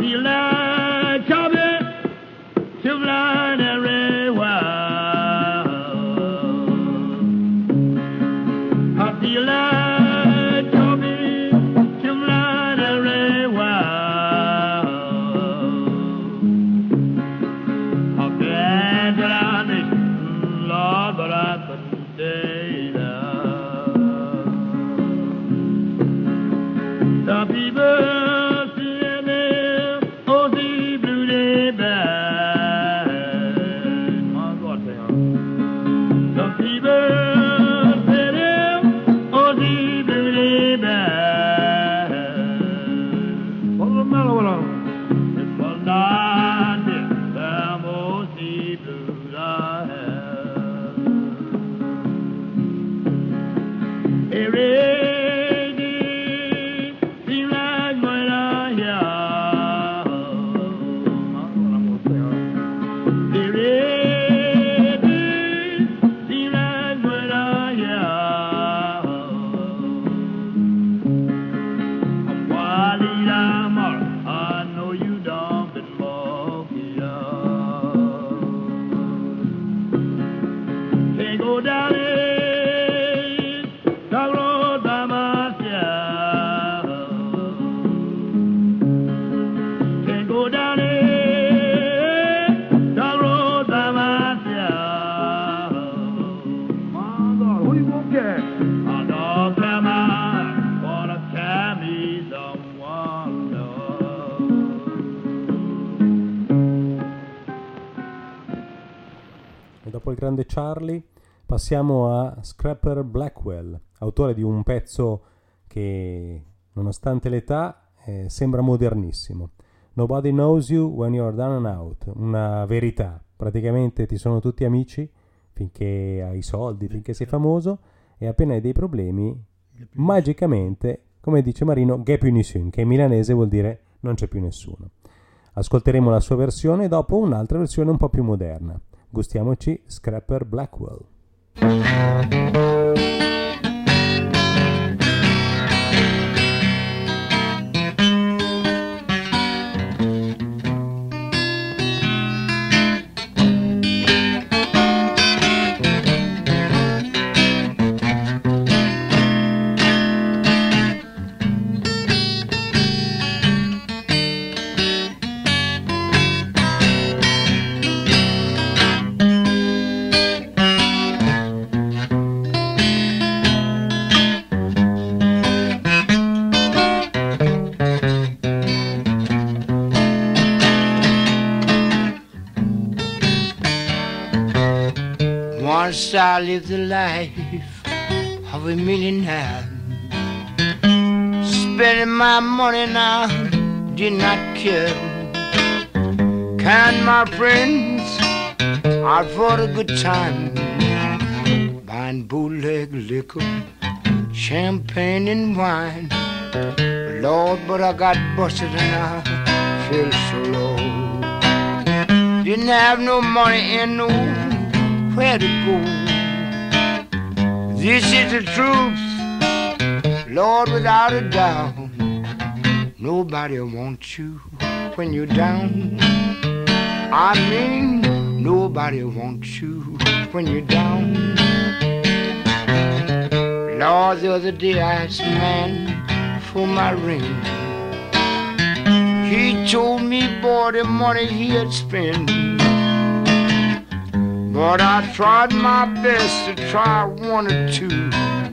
feel like coming to fly everywhere. I feel like coming to fly everywhere. I've been around this, Lord, but I couldn't stay there. The people seeing me, oh, the blue day band. My God, they are. The people seeing me, oh, the blue day band. What's the matter with them? It was not this time, oh, the blues I had. Every Dopo il grande Charlie passiamo a Scrapper Blackwell, autore di un pezzo che nonostante l'età sembra modernissimo. Nobody knows you when you're down and out, una verità, praticamente ti sono tutti amici finché hai soldi, finché sei famoso, e appena hai dei problemi magicamente, come dice Marino, ghe più nessuno, che in milanese vuol dire non c'è più nessuno. Ascolteremo la sua versione e dopo un'altra versione un po' più moderna. Gustiamoci Scrapper Blackwell. Once I lived the life of a millionaire, spending my money now, did not care. Kind my friends out for a good time, buying bootleg liquor, champagne and wine. Lord, but I got busted and I feel so low. Didn't have no money and no where to go. This is the truth, Lord, without a doubt. Nobody wants you when you're down. I mean, nobody wants you when you're down. Lord, the other day I asked a man for my ring. He told me, boy, the money he had spent. But I tried my best to try one or two.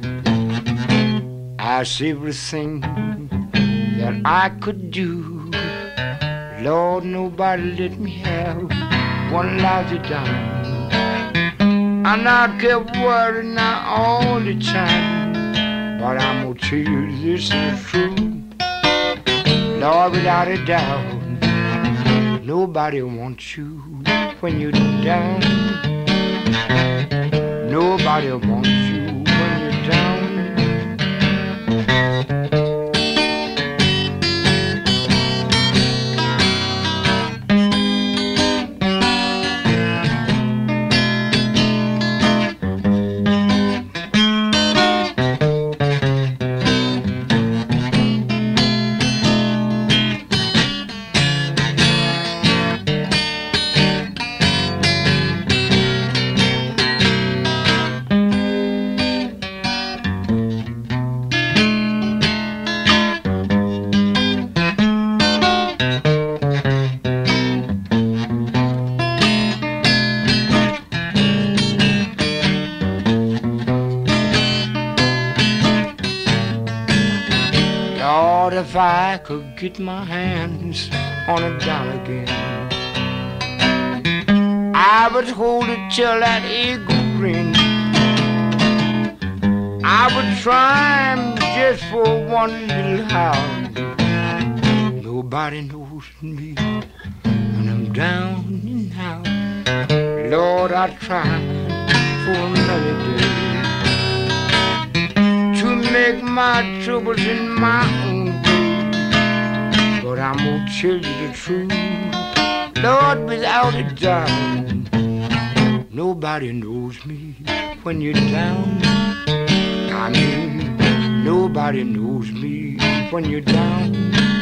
Asked everything that I could do. Lord, nobody let me have one lousy dime. And I kept worrying now all the time. But I'm gonna tell you this is true. Lord, without a doubt, nobody wants you when you're down. Nobody wants you when you're down. Lord, if I could get my hands on a dollar again, I would hold it till that eagle ring. I would try him just for one little hour. Nobody knows me when I'm down and out. Lord, I tried for another day to make my troubles in my own way. But I'm gonna tell you the truth, Lord, without a doubt, nobody knows me when you're down. I mean, nobody knows me when you're down.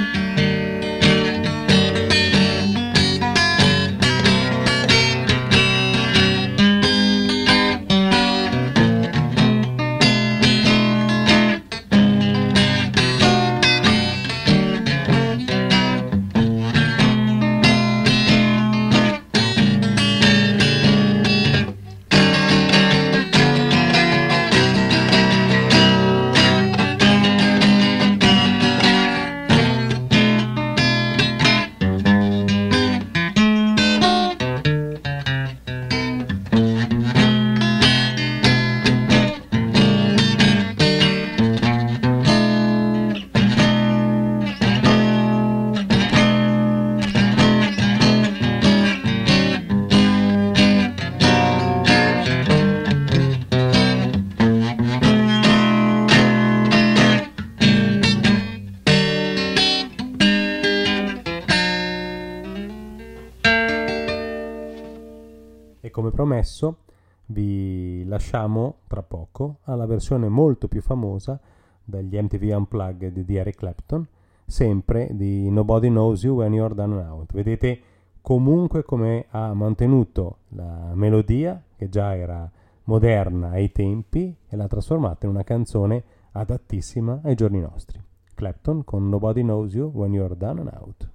Come promesso, vi lasciamo tra poco alla versione molto più famosa dagli MTV Unplugged di Eric Clapton, sempre di Nobody Knows You When You're Down and Out. Vedete comunque come ha mantenuto la melodia, che già era moderna ai tempi, e l'ha trasformata in una canzone adattissima ai giorni nostri. Clapton con Nobody Knows You When You're Down and Out.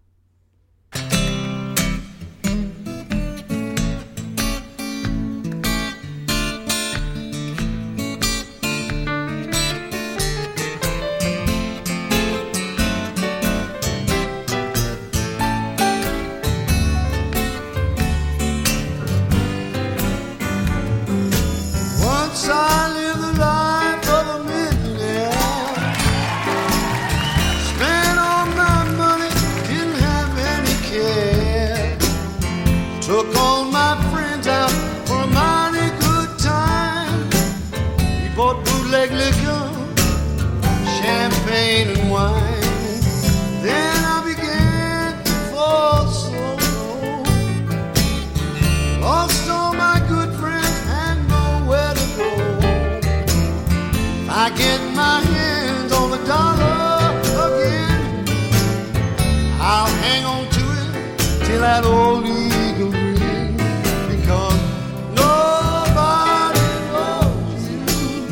That old eagle ring, because nobody knows you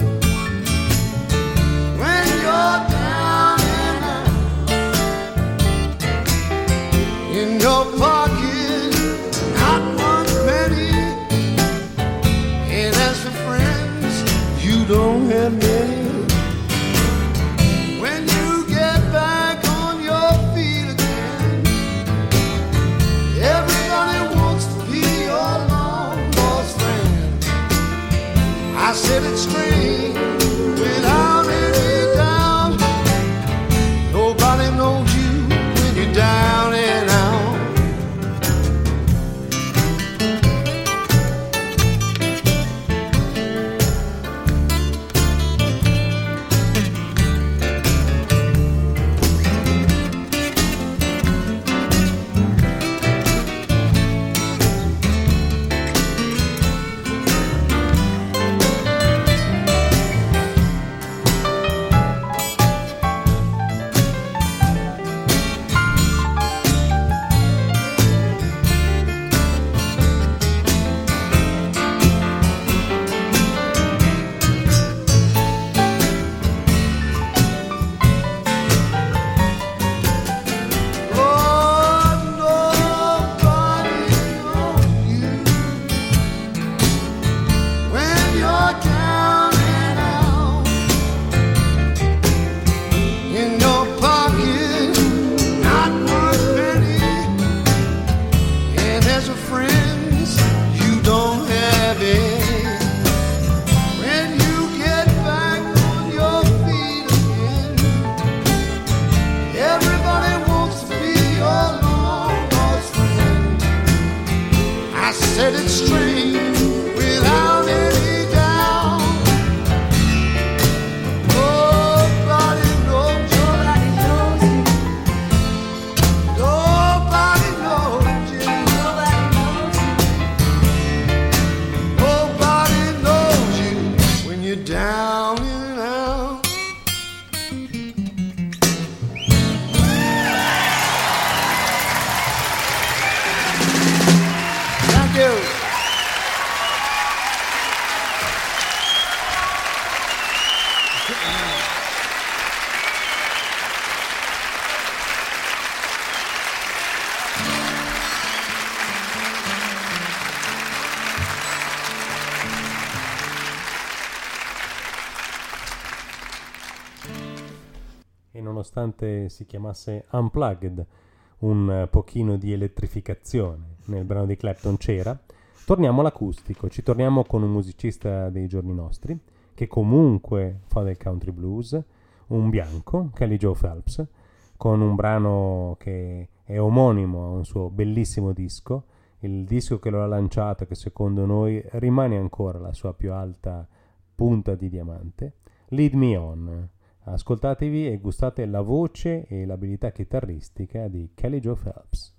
when you're down and out. In your pocket, not one penny, and as for friends, you don't have many. When you get back on your feet again, everybody wants to be your long lost friend. I said it straight, without any doubt. Nobody knows you when you're down and out. set it straight without any doubt. Nobody knows you. Nobody knows you. Nobody knows you when you're down and out. Thank you. E nonostante si chiamasse Unplugged, un pochino di elettrificazione nel brano di Clapton c'era. Torniamo all'acustico, ci torniamo con un musicista dei giorni nostri che comunque fa del country blues, un bianco, Kelly Joe Phelps, con un brano che è omonimo a un suo bellissimo disco, il disco che lo ha lanciato e che secondo noi rimane ancora la sua più alta punta di diamante, Lead Me On. Ascoltatevi e gustate la voce e l'abilità chitarristica di Kelly Joe Phelps.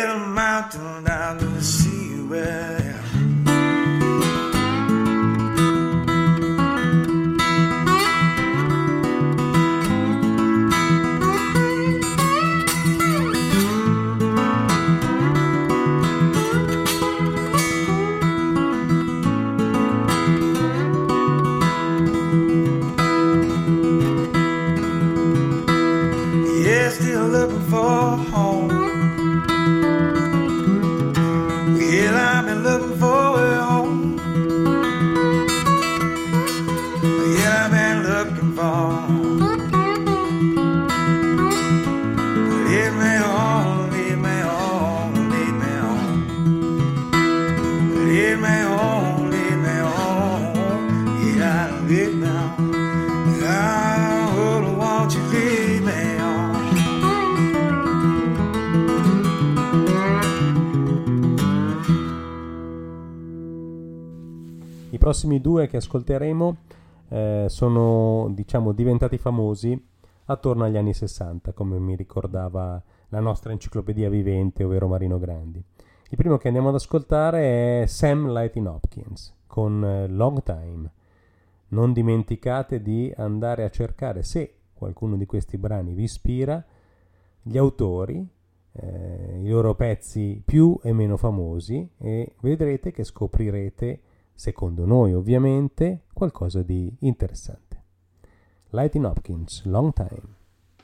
little mountain down to the sea where I prossimi due che ascolteremo sono, diciamo, diventati famosi attorno agli anni 60, come mi ricordava la nostra enciclopedia vivente, ovvero Marino Grandi. Il primo che andiamo ad ascoltare è Sam Lightning Hopkins con Long Time. Non dimenticate di andare a cercare, se qualcuno di questi brani vi ispira, gli autori, i loro pezzi più e meno famosi, e vedrete che scoprirete, secondo noi ovviamente, qualcosa di interessante. Lightning Hopkins, Long Time.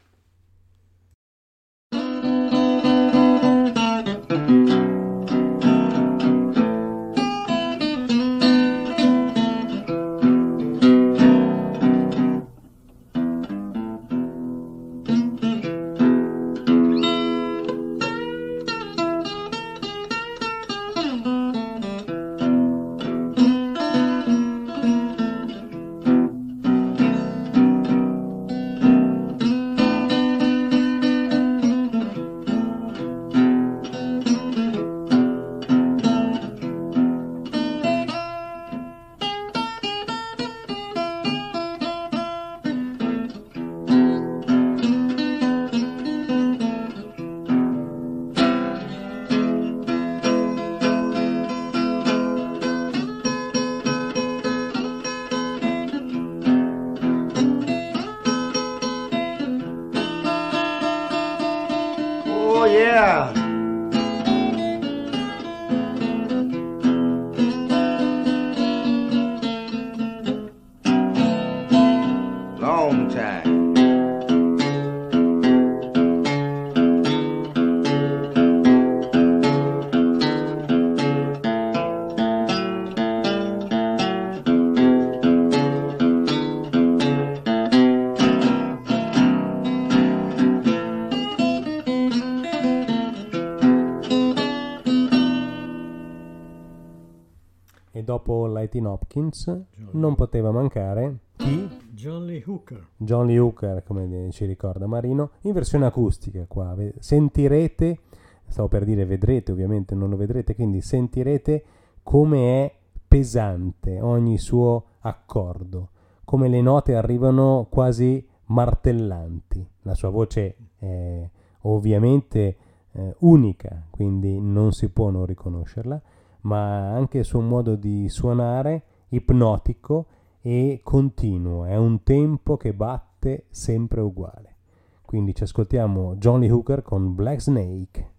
Dopo Lightning Hopkins non poteva mancare chi? John Lee Hooker. John Lee Hooker, come ci ricorda Marino, in versione acustica qua. Sentirete, stavo per dire vedrete, ovviamente non lo vedrete, quindi sentirete come è pesante ogni suo accordo, come le note arrivano quasi martellanti. La sua voce è ovviamente unica, quindi non si può non riconoscerla, ma anche il suo modo di suonare ipnotico e continuo, è un tempo che batte sempre uguale. Quindi ci ascoltiamo John Lee Hooker con Black Snake.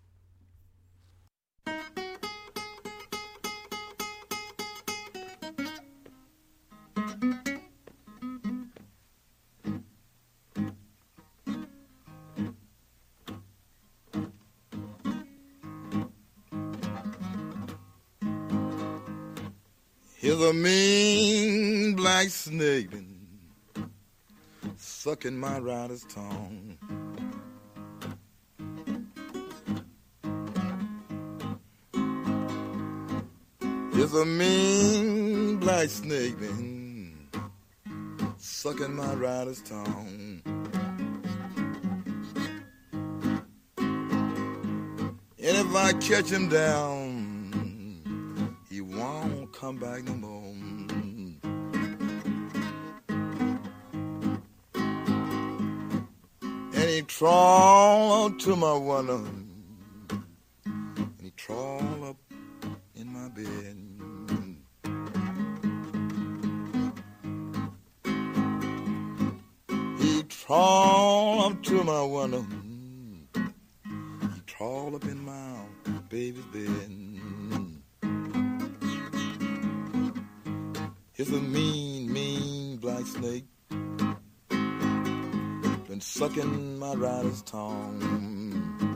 Here's a mean black snake been sucking my rider's tongue. Here's a mean black snake been sucking my rider's tongue. And if I catch him down, he won't come back no more. And he crawled to my window crawl up to my window. He crawl up in my baby's bed. It's a mean, mean black snake, been sucking my rider's tongue.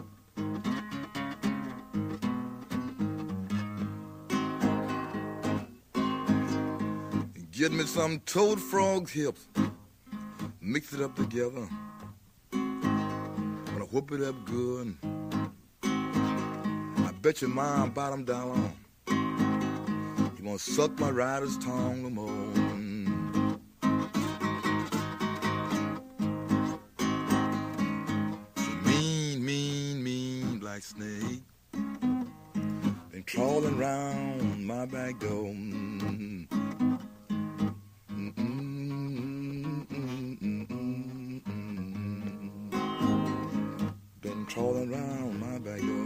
Get me some toad frog's hips, mix it up together, gonna whoop it up good. I bet your mom bottom dollar you gonna suck my rider's tongue no more. Mean, mean, mean black snake been crawling round my back door. Been crawling round my back door.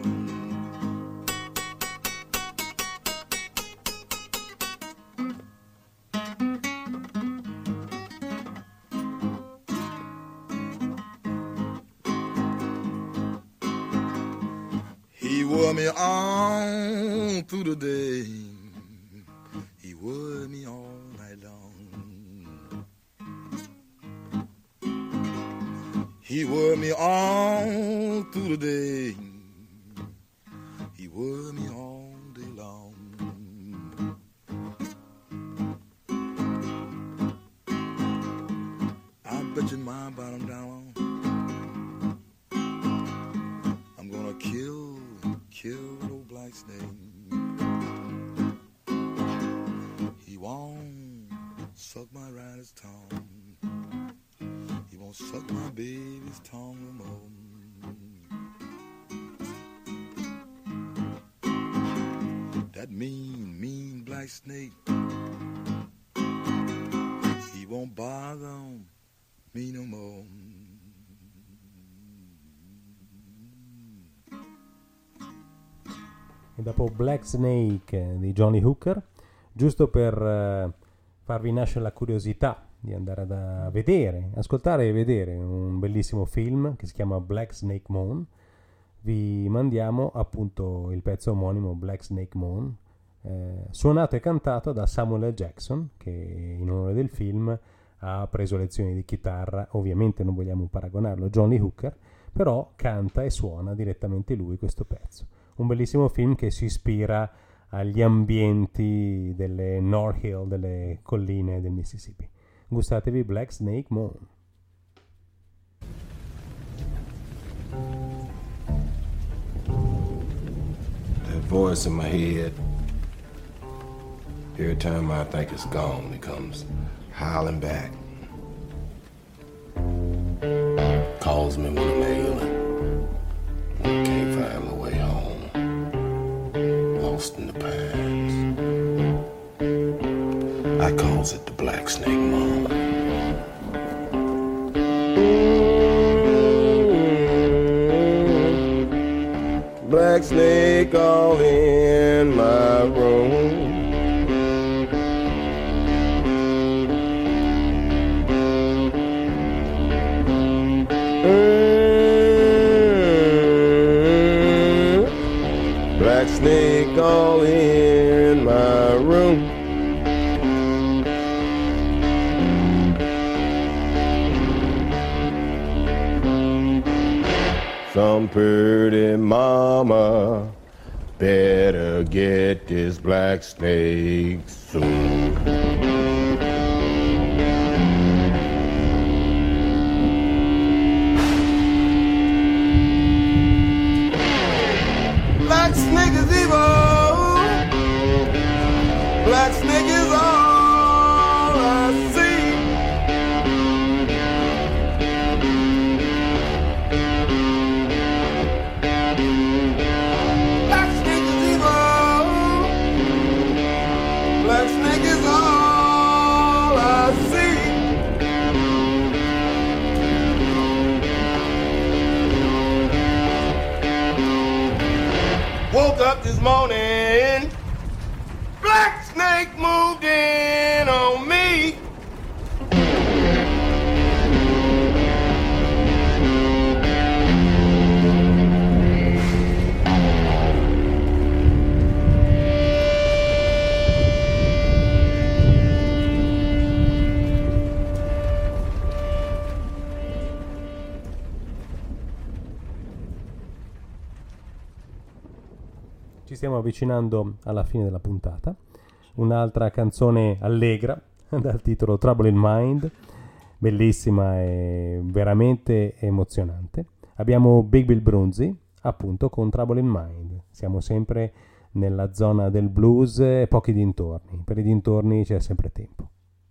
He wore me on through the day. He wore me all night long. He wore me on through the day. He wore me all day long. I bet you my bottom down I'm gonna kill old black snake. He won't suck my rider's tongue. He won't suck my baby's tongue no more. That mean, mean black snake, he won't bother me no more. E dopo Black Snake di Johnny Hooker, giusto per farvi nascere la curiosità di andare a vedere, ascoltare e vedere un bellissimo film che si chiama Black Snake Moan, vi mandiamo appunto il pezzo omonimo Black Snake Moan, suonato e cantato da Samuel L. Jackson, che in onore del film ha preso lezioni di chitarra. Ovviamente non vogliamo paragonarlo a Johnny Hooker, però canta e suona direttamente lui questo pezzo. Un bellissimo film che si ispira agli ambienti delle North Hill, delle colline del Mississippi. Gustatevi Black Snake Moan. That voice in my head, every time I think it's gone, it comes howling back. Calls me when I'm ailing, when I can't find my way home. Lost in the past. I calls it the Black Snake Moan. Black snake all in my room. Black snake all in my room. Some pretty mama better get this black snake soon. Black snake is evil. Black snake is all I see. Black snake is evil. Black snake is all I see. Woke up this morning, black snake moved in on me. Ci stiamo avvicinando alla fine della puntata. Un'altra canzone allegra dal titolo Trouble in Mind, bellissima e veramente emozionante. Abbiamo Big Bill Broonzy, appunto, con Trouble in Mind. Siamo sempre nella zona del blues e pochi dintorni. Per i dintorni c'è sempre tempo.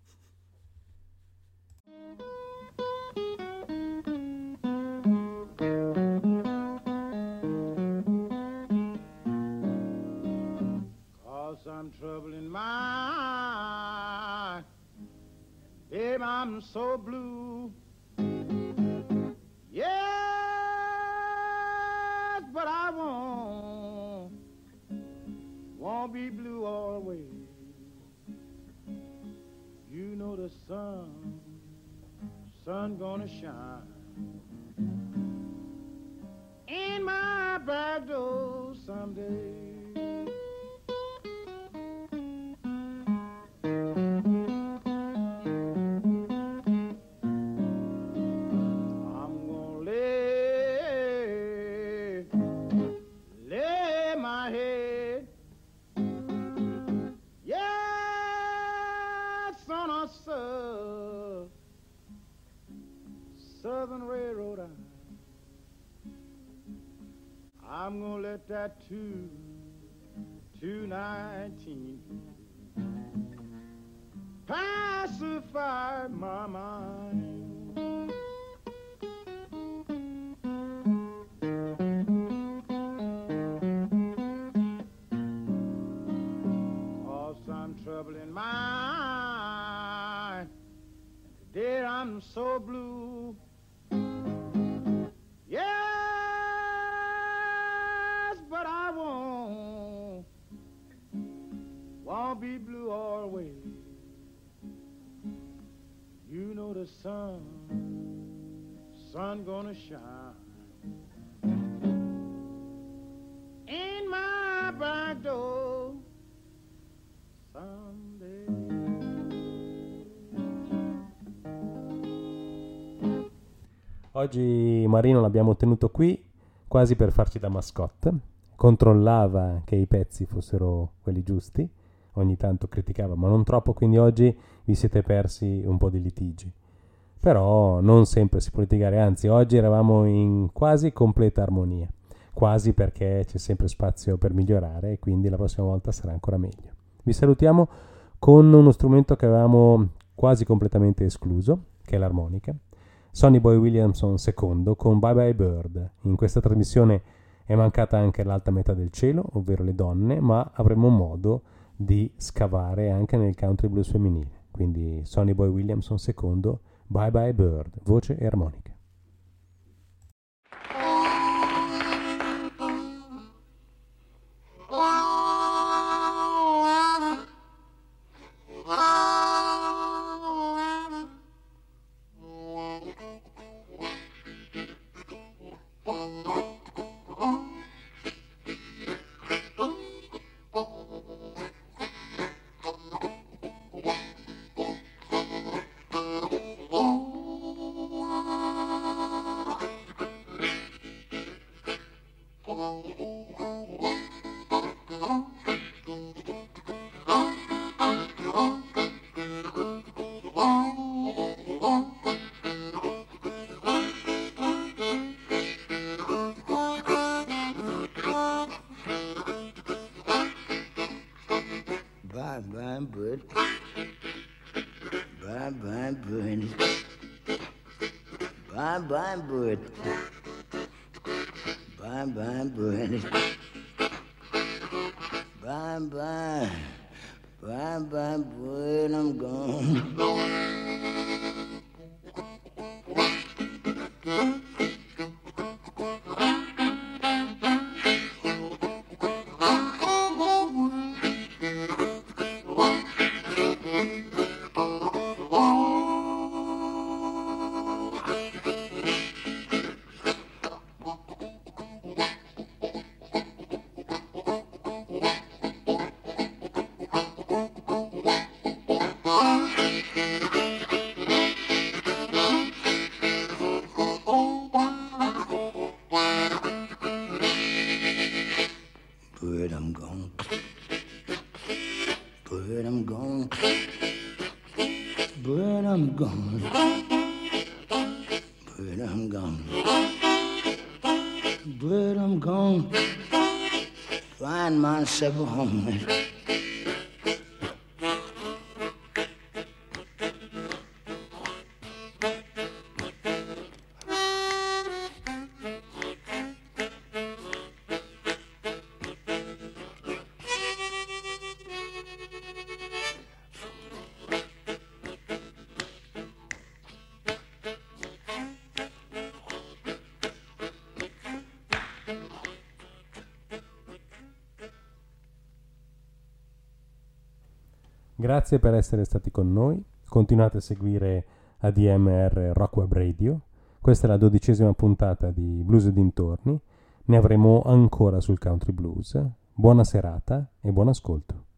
I'm trouble in mind, babe, I'm so blue. Yes, but I won't be blue always. You know the sun gonna shine in my back door someday. Southern Railroad eye. I'm gonna let that 219 pacify my mind. Cause I'm trouble in mind. Today I'm so blue. Yes, but I won't be blue always. You know the sun gonna shine in my back door someday. Oggi Marino l'abbiamo tenuto qui quasi per farci da mascotte. Controllava che i pezzi fossero quelli giusti, ogni tanto criticava, ma non troppo, quindi oggi vi siete persi un po' di litigi. Però non sempre si può litigare, anzi oggi eravamo in quasi completa armonia, quasi, perché c'è sempre spazio per migliorare e quindi la prossima volta sarà ancora meglio. Vi salutiamo con uno strumento che avevamo quasi completamente escluso, che è l'armonica. Sonny Boy Williamson II con Bye Bye Bird. In questa trasmissione è mancata anche l'alta metà del cielo, ovvero le donne, ma avremo modo di scavare anche nel country blues femminile. Quindi Sonny Boy Williamson II, Bye Bye Bird, voce e armonica. But I'm gone. But I'm gone. Find myself a home. Grazie per essere stati con noi, continuate a seguire ADMR Rock Web Radio, questa è la 12ª puntata di Blues e dintorni, ne avremo ancora sul country blues, buona serata e buon ascolto.